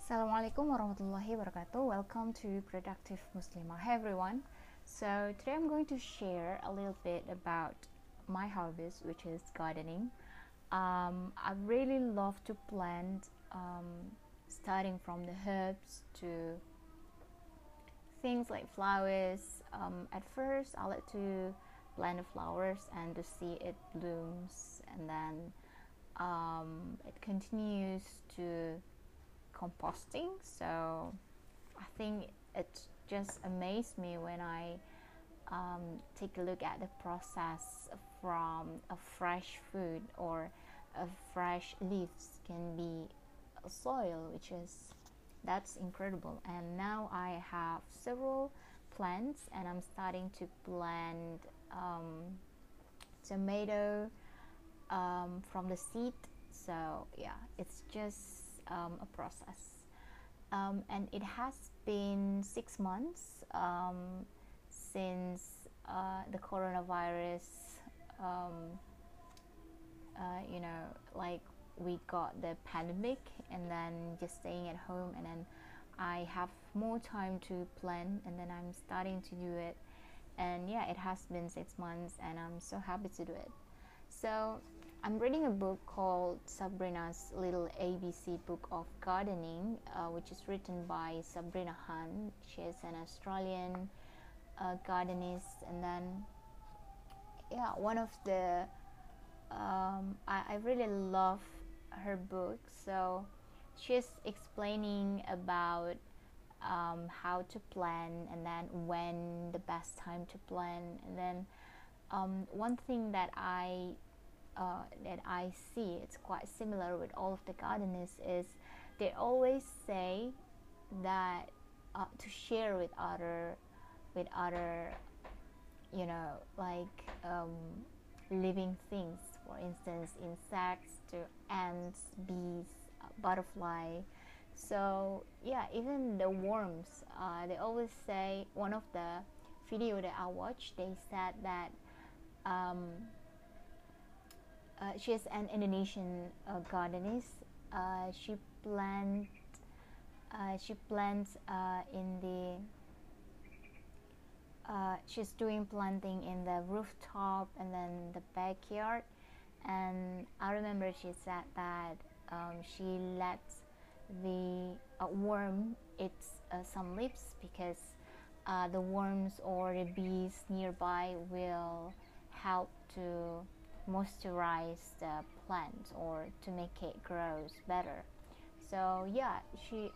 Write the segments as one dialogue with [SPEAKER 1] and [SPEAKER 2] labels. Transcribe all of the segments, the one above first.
[SPEAKER 1] Assalamualaikum warahmatullahi wabarakatuh. Welcome to Productive Muslimah. Hi everyone. So today I'm going to share a little bit about my hobbies, which is gardening. I really love to plant, starting from the herbs to things like flowers. At first, I like to plant the flowers and to see it blooms, and then it continues to composting. So I think it just amazed me when I take a look at the process from a fresh food or a fresh leaves can be a soil, which is that's incredible. And now I have several plants and I'm starting to plant tomato from the seed. So yeah, it's just a process. And it has been 6 months since the coronavirus, um, like we got the pandemic, and then just staying at home, and then I have more time to plan, and then I'm starting to do it. And yeah, it has been 6 months, and I'm so happy to do it. So I'm reading a book called Sabrina's Little ABC Book of Gardening, which is written by Sabrina Hunt. She is an Australian gardenist, and then yeah, one of the I really love her book. So she's explaining about how to plant, and then when the best time to plant, and then one thing that I see it's quite similar with all of the gardeners is they always say that to share with other like living things, for instance insects to ants, bees, butterfly. So yeah, even the worms, they always say, one of the video that I watched, they said that um, she's an Indonesian gardenist. She plant she plants in the she's doing planting in the rooftop and then the backyard. And I remember she said that she lets the worm eat some leaves, because the worms or the bees nearby will help to moisturize the plant or to make it grows better. So yeah, she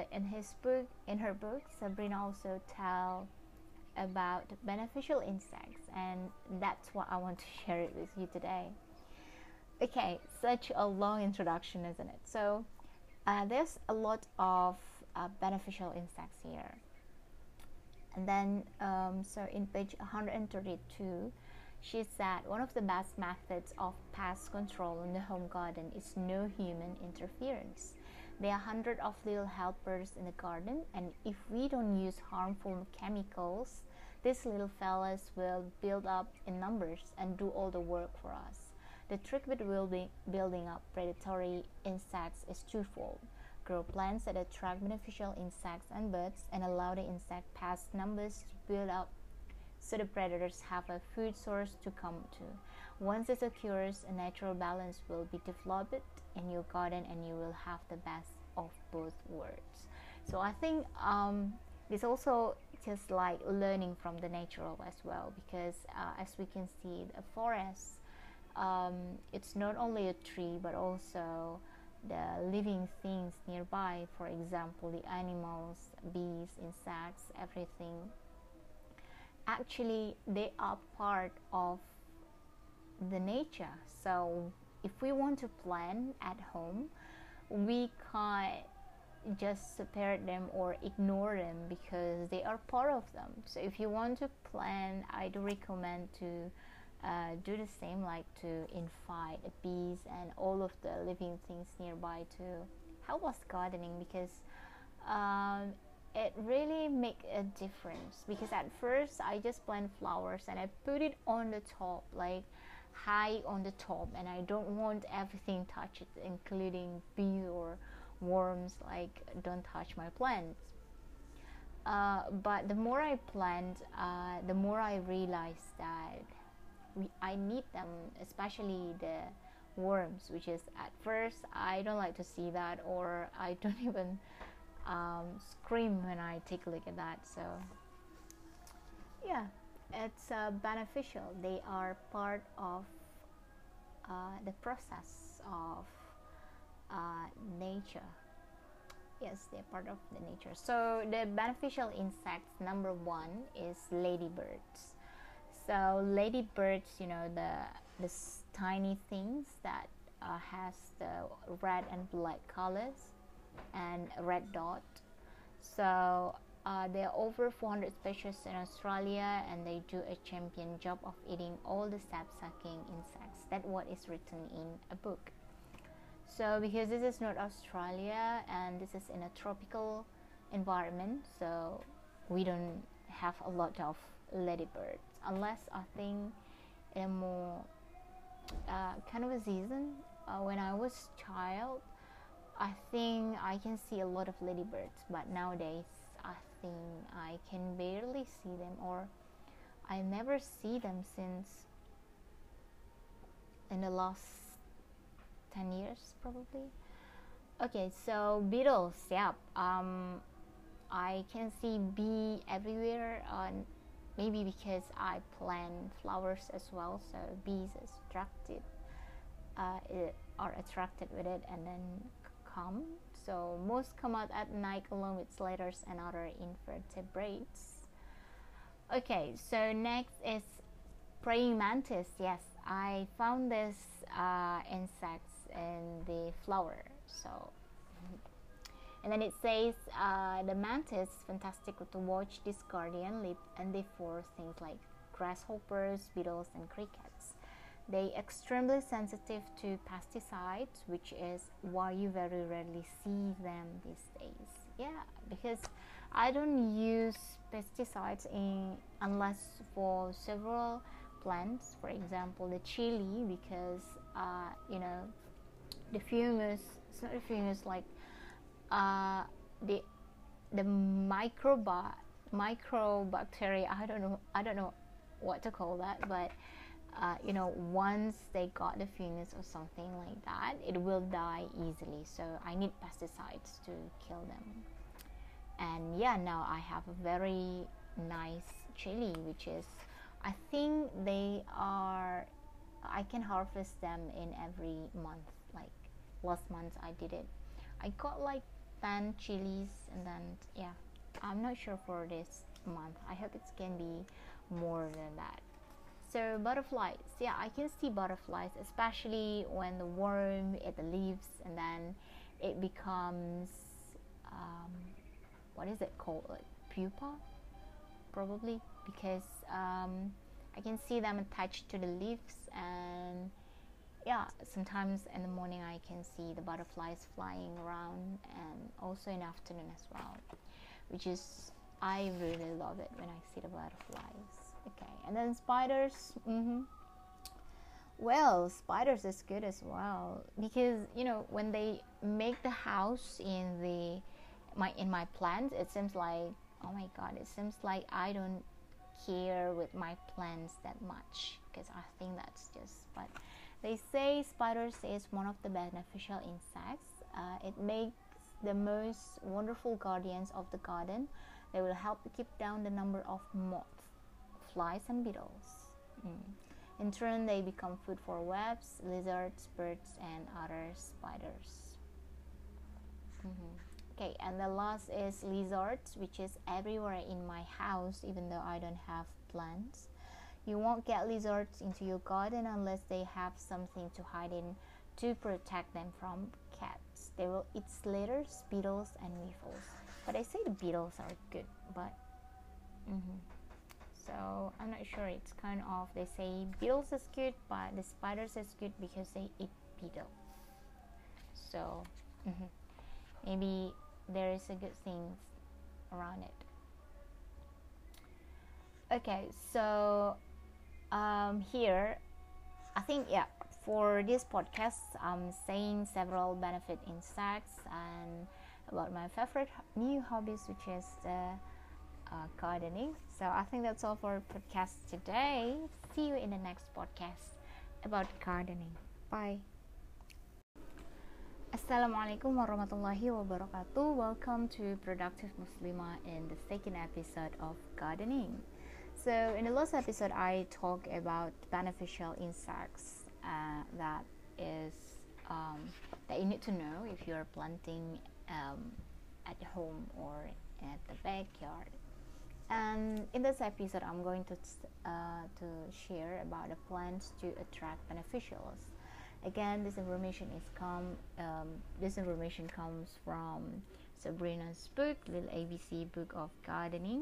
[SPEAKER 1] in her book, Sabrina also tell about beneficial insects, and that's what I want to share it with you today. Okay, such a long introduction, isn't it? So there's a lot of beneficial insects here. And then so in page 132, she said one of the best methods of pest control in the home garden is no human interference. There are hundreds of little helpers in the garden, and if we don't use harmful chemicals, these little fellas will build up in numbers and do all the work for us. The trick with building up predatory insects is twofold. Grow plants that attract beneficial insects and birds, and allow the insect pest numbers to build up so the predators have a food source to come to. Once this occurs, a natural balance will be developed in your garden, and you will have the best of both worlds. So I think this also just like learning from the natural as well, because as we can see, the forest, it's not only a tree but also the living things nearby. For example, the animals, bees, insects, everything. Actually, they are part of the nature. So if we want to plant at home, we can't just separate them or ignore them, because they are part of them. So if you want to plant, I do recommend to do the same, like to invite bees and all of the living things nearby to help us gardening, because it really make a difference. Because at first I just plant flowers and I put it on the top, like high on the top, and I don't want everything touch it, including bees worms like don't touch my plants. But the more I plant, the more I realize that I need them, especially the worms, which is at first I don't like to see that, or I don't even scream when I take a look at that. So yeah, it's beneficial. They are part of the process of nature. Yes, they're part of the nature. So the beneficial insects, number one is ladybirds. So ladybirds, you know, the tiny things that has the red and black colors and red dot. So there are over 400 species in Australia, and they do a champion job of eating all the sap-sucking insects. That's what is written in a book. So because this is not Australia and this is in a tropical environment, so we don't have a lot of ladybirds, unless I think in a more kind of a season when I was child, I think I can see a lot of ladybirds, but nowadays I think I can barely see them, or I never see them since in the last 10 years probably. Okay, so beetles, yeah, I can see bee everywhere, maybe because I plant flowers as well, so bees are attracted with it and then come. So most come out at night along with sliders and other invertebrates. Okay, so next is praying mantis. Yes, I found this insects in the flower. So and then it says the mantis fantastic to watch. This guardian live and they for things like grasshoppers, beetles, and crickets. They extremely sensitive to pesticides, which is why you very rarely see them these days. Yeah, because I don't use pesticides unless for several plants, for example the chili, because you know, the fungus, it's not the fungus, like the microbacteria, I don't know what to call that, but you know, once they got the fungus or something like that, it will die easily, so I need pesticides to kill them. And yeah, now I have a very nice chili, which is, I think they are, I can harvest them in every month. Like last month I did it, I got like 10 chilies, and then yeah, I'm not sure for this month, I hope it can be more than that. So butterflies, yeah, I can see butterflies, especially when the worm ate the leaves and then it becomes what is it called, like pupa probably, because I can see them attached to the leaves. And yeah, sometimes in the morning I can see the butterflies flying around, and also in the afternoon as well, which is, I really love it when I see the butterflies. Okay, and then spiders. Well, spiders is good as well, because you know, when they make the house in my plants, it seems like, oh my god, it seems like I don't care with my plants that much, because I think that's just, but they say spiders is one of the beneficial insects. It makes the most wonderful guardians of the garden. They will help to keep down the number of moths, flies, and beetles. In turn, they become food for wasps, lizards, birds, and other spiders. Okay, and the last is lizards, which is everywhere in my house, even though I don't have plants. You won't get lizards into your garden unless they have something to hide in to protect them from cats. They will eat slithers, beetles, and weevils. But I say the beetles are good, but so I'm not sure. It's kind of, they say beetles is good, but the spiders is good because they eat beetle. So maybe there is a good thing around it. Okay, so here I think, yeah, for this podcast, I'm saying several benefit insects and about my favorite new hobbies, which is the gardening. So I think that's all for podcast today. See you in the next podcast about gardening. Bye. Assalamualaikum warahmatullahi wabarakatuh. Welcome to Productive Muslimah in the second episode of gardening. So in the last episode, I talked about beneficial insects that you need to know if you're planting at home or at the backyard. And in this episode, I'm going to share about the plants to attract beneficials. Again, this information comes from Sabrina's book, Little ABC Book of Gardening.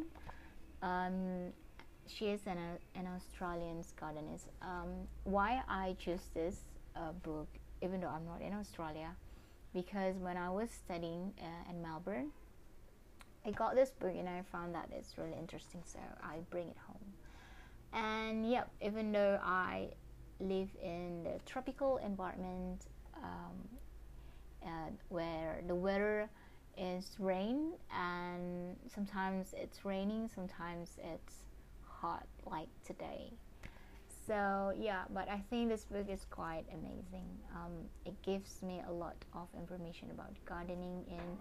[SPEAKER 1] She is an Australian gardenist. Why I choose this book, even though I'm not in Australia, because when I was studying in Melbourne, I got this book and I found that it's really interesting, so I bring it home. And yep, even though I live in the tropical environment where the weather is rain, and sometimes it's raining, sometimes it's hot like today. So yeah, but I think this book is quite amazing. It gives me a lot of information about gardening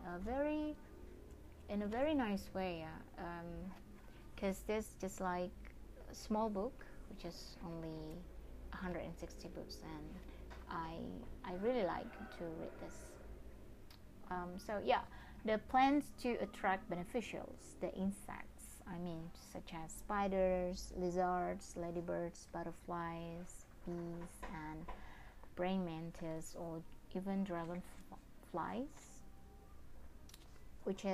[SPEAKER 1] in a very nice way, because this just like a small book, which is only 160 books, and I really like to read this. So yeah, the plants to attract beneficials, the insects, such as spiders, lizards, ladybirds, butterflies, bees, and praying mantis, or even dragonflies, which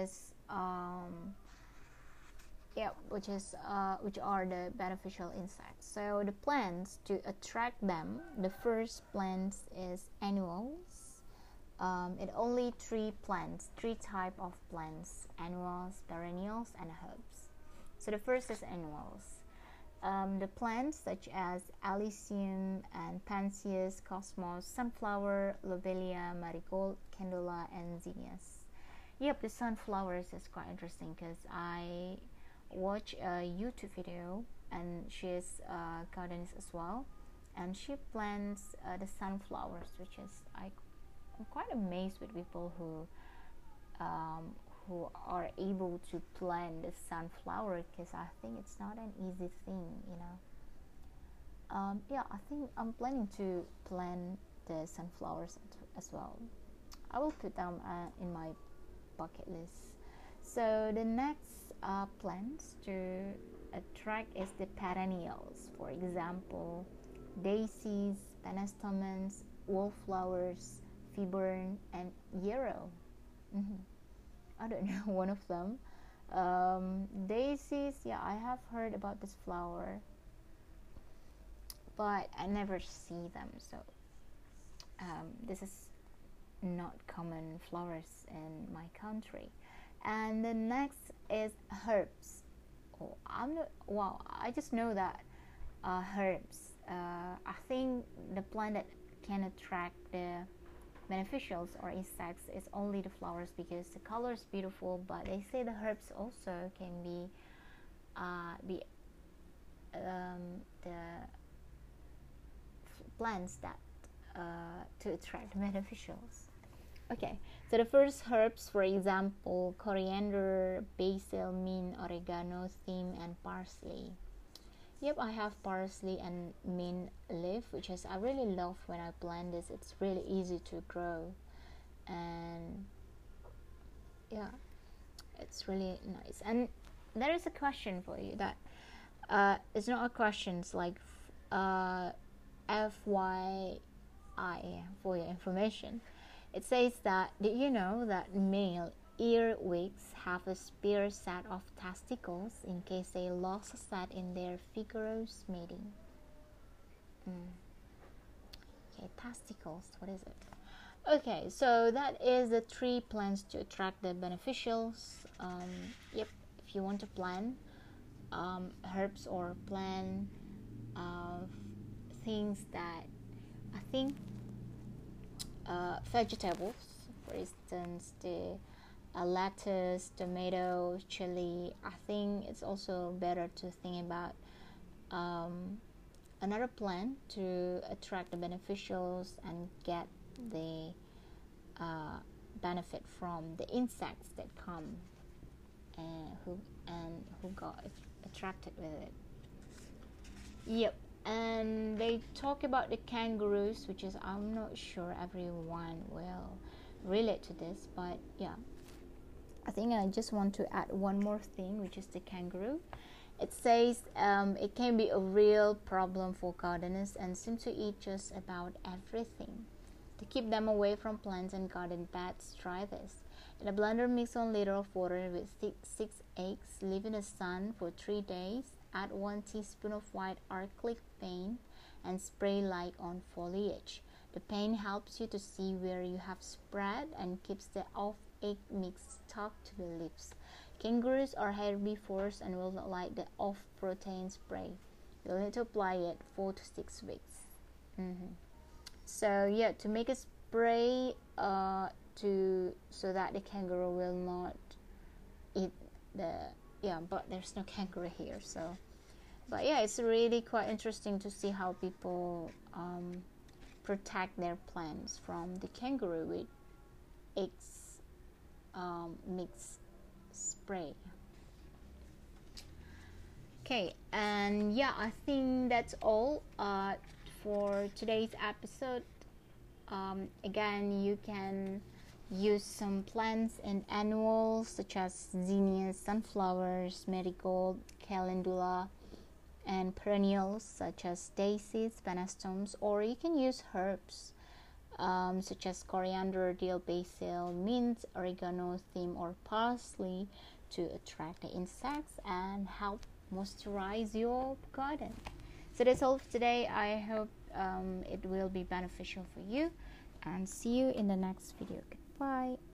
[SPEAKER 1] are the beneficial insects. So the plants to attract them, the first plants is annuals. It only three type of plants: annuals, perennials, and herbs. So the first is annuals. The plants such as Alyssum and Pansius, Cosmos, Sunflower, Lobelia, Marigold, Candula, and Zinnias. Yep, the sunflowers is quite interesting because I watch a YouTube video, and she is a gardenist as well, and she plants the sunflowers, which is I'm quite amazed with people who are able to plant the sunflower, because I think it's not an easy thing, yeah, I think I'm planning to plant the sunflowers as well. I will put them in my bucket list. So the next plants to attract is the perennials. For example, daisies, pentstemons, wallflowers, fibern, and yarrow. I don't know one of them. Daisies, yeah, I have heard about this flower, but I never see them. So this is not common flowers in my country. And the next is herbs. I just know that herbs. I think the plant that can attract the beneficials or insects is only the flowers, because the color is beautiful. But they say the herbs also can be the plants that to attract beneficials. Okay, so the first herbs, for example, coriander, basil, mint, oregano, thyme, and parsley. Yep, I have parsley and mint leaf, which is I really love when I plant this. It's really easy to grow, and yeah, it's really nice. And there is a question for you that it's not a question, it's like FYI for your information. It says that, did you know that male earwigs have a spare set of testicles in case they lost a set in their vigorous mating? Okay, testicles, what is it? Okay, so that is the 3 plants to attract the beneficials. Yep, if you want to plant herbs or plant things that I think vegetables, for instance, the lettuce, tomato, chili. I think it's also better to think about another plant to attract the beneficials and get the benefit from the insects that come and who got attracted with it. Yep. And they talk about the kangaroos, which is, I'm not sure everyone will relate to this, but yeah, I think I just want to add one more thing, which is the kangaroo. It says it can be a real problem for gardeners and seem to eat just about everything. To keep them away from plants and garden beds, try this. In a blender, mix 1 liter of water with 6 eggs. Leave in the sun for 3 days. Add 1 teaspoon of white acrylic paint and spray light on foliage. The paint helps you to see where you have spread and keeps the off-egg mix stuck to the leaves. Kangaroos are herbivores and will not like the off-protein spray. You'll need to apply it 4 to 6 weeks. So yeah, to make a spray so that the kangaroo will not eat but there's no kangaroo here, so but yeah, it's really quite interesting to see how people protect their plants from the kangaroo with eggs mixed spray. Okay, and yeah, I think that's all for today's episode. Again, you can use some plants and annuals such as zinnias, sunflowers, marigold, calendula, and perennials such as daisies, pennastomes, or you can use herbs such as coriander, dill, basil, mint, oregano, thyme, or parsley to attract the insects and help moisturize your garden. So that's all for today. I hope it will be beneficial for you, and see you in the next video. Goodbye.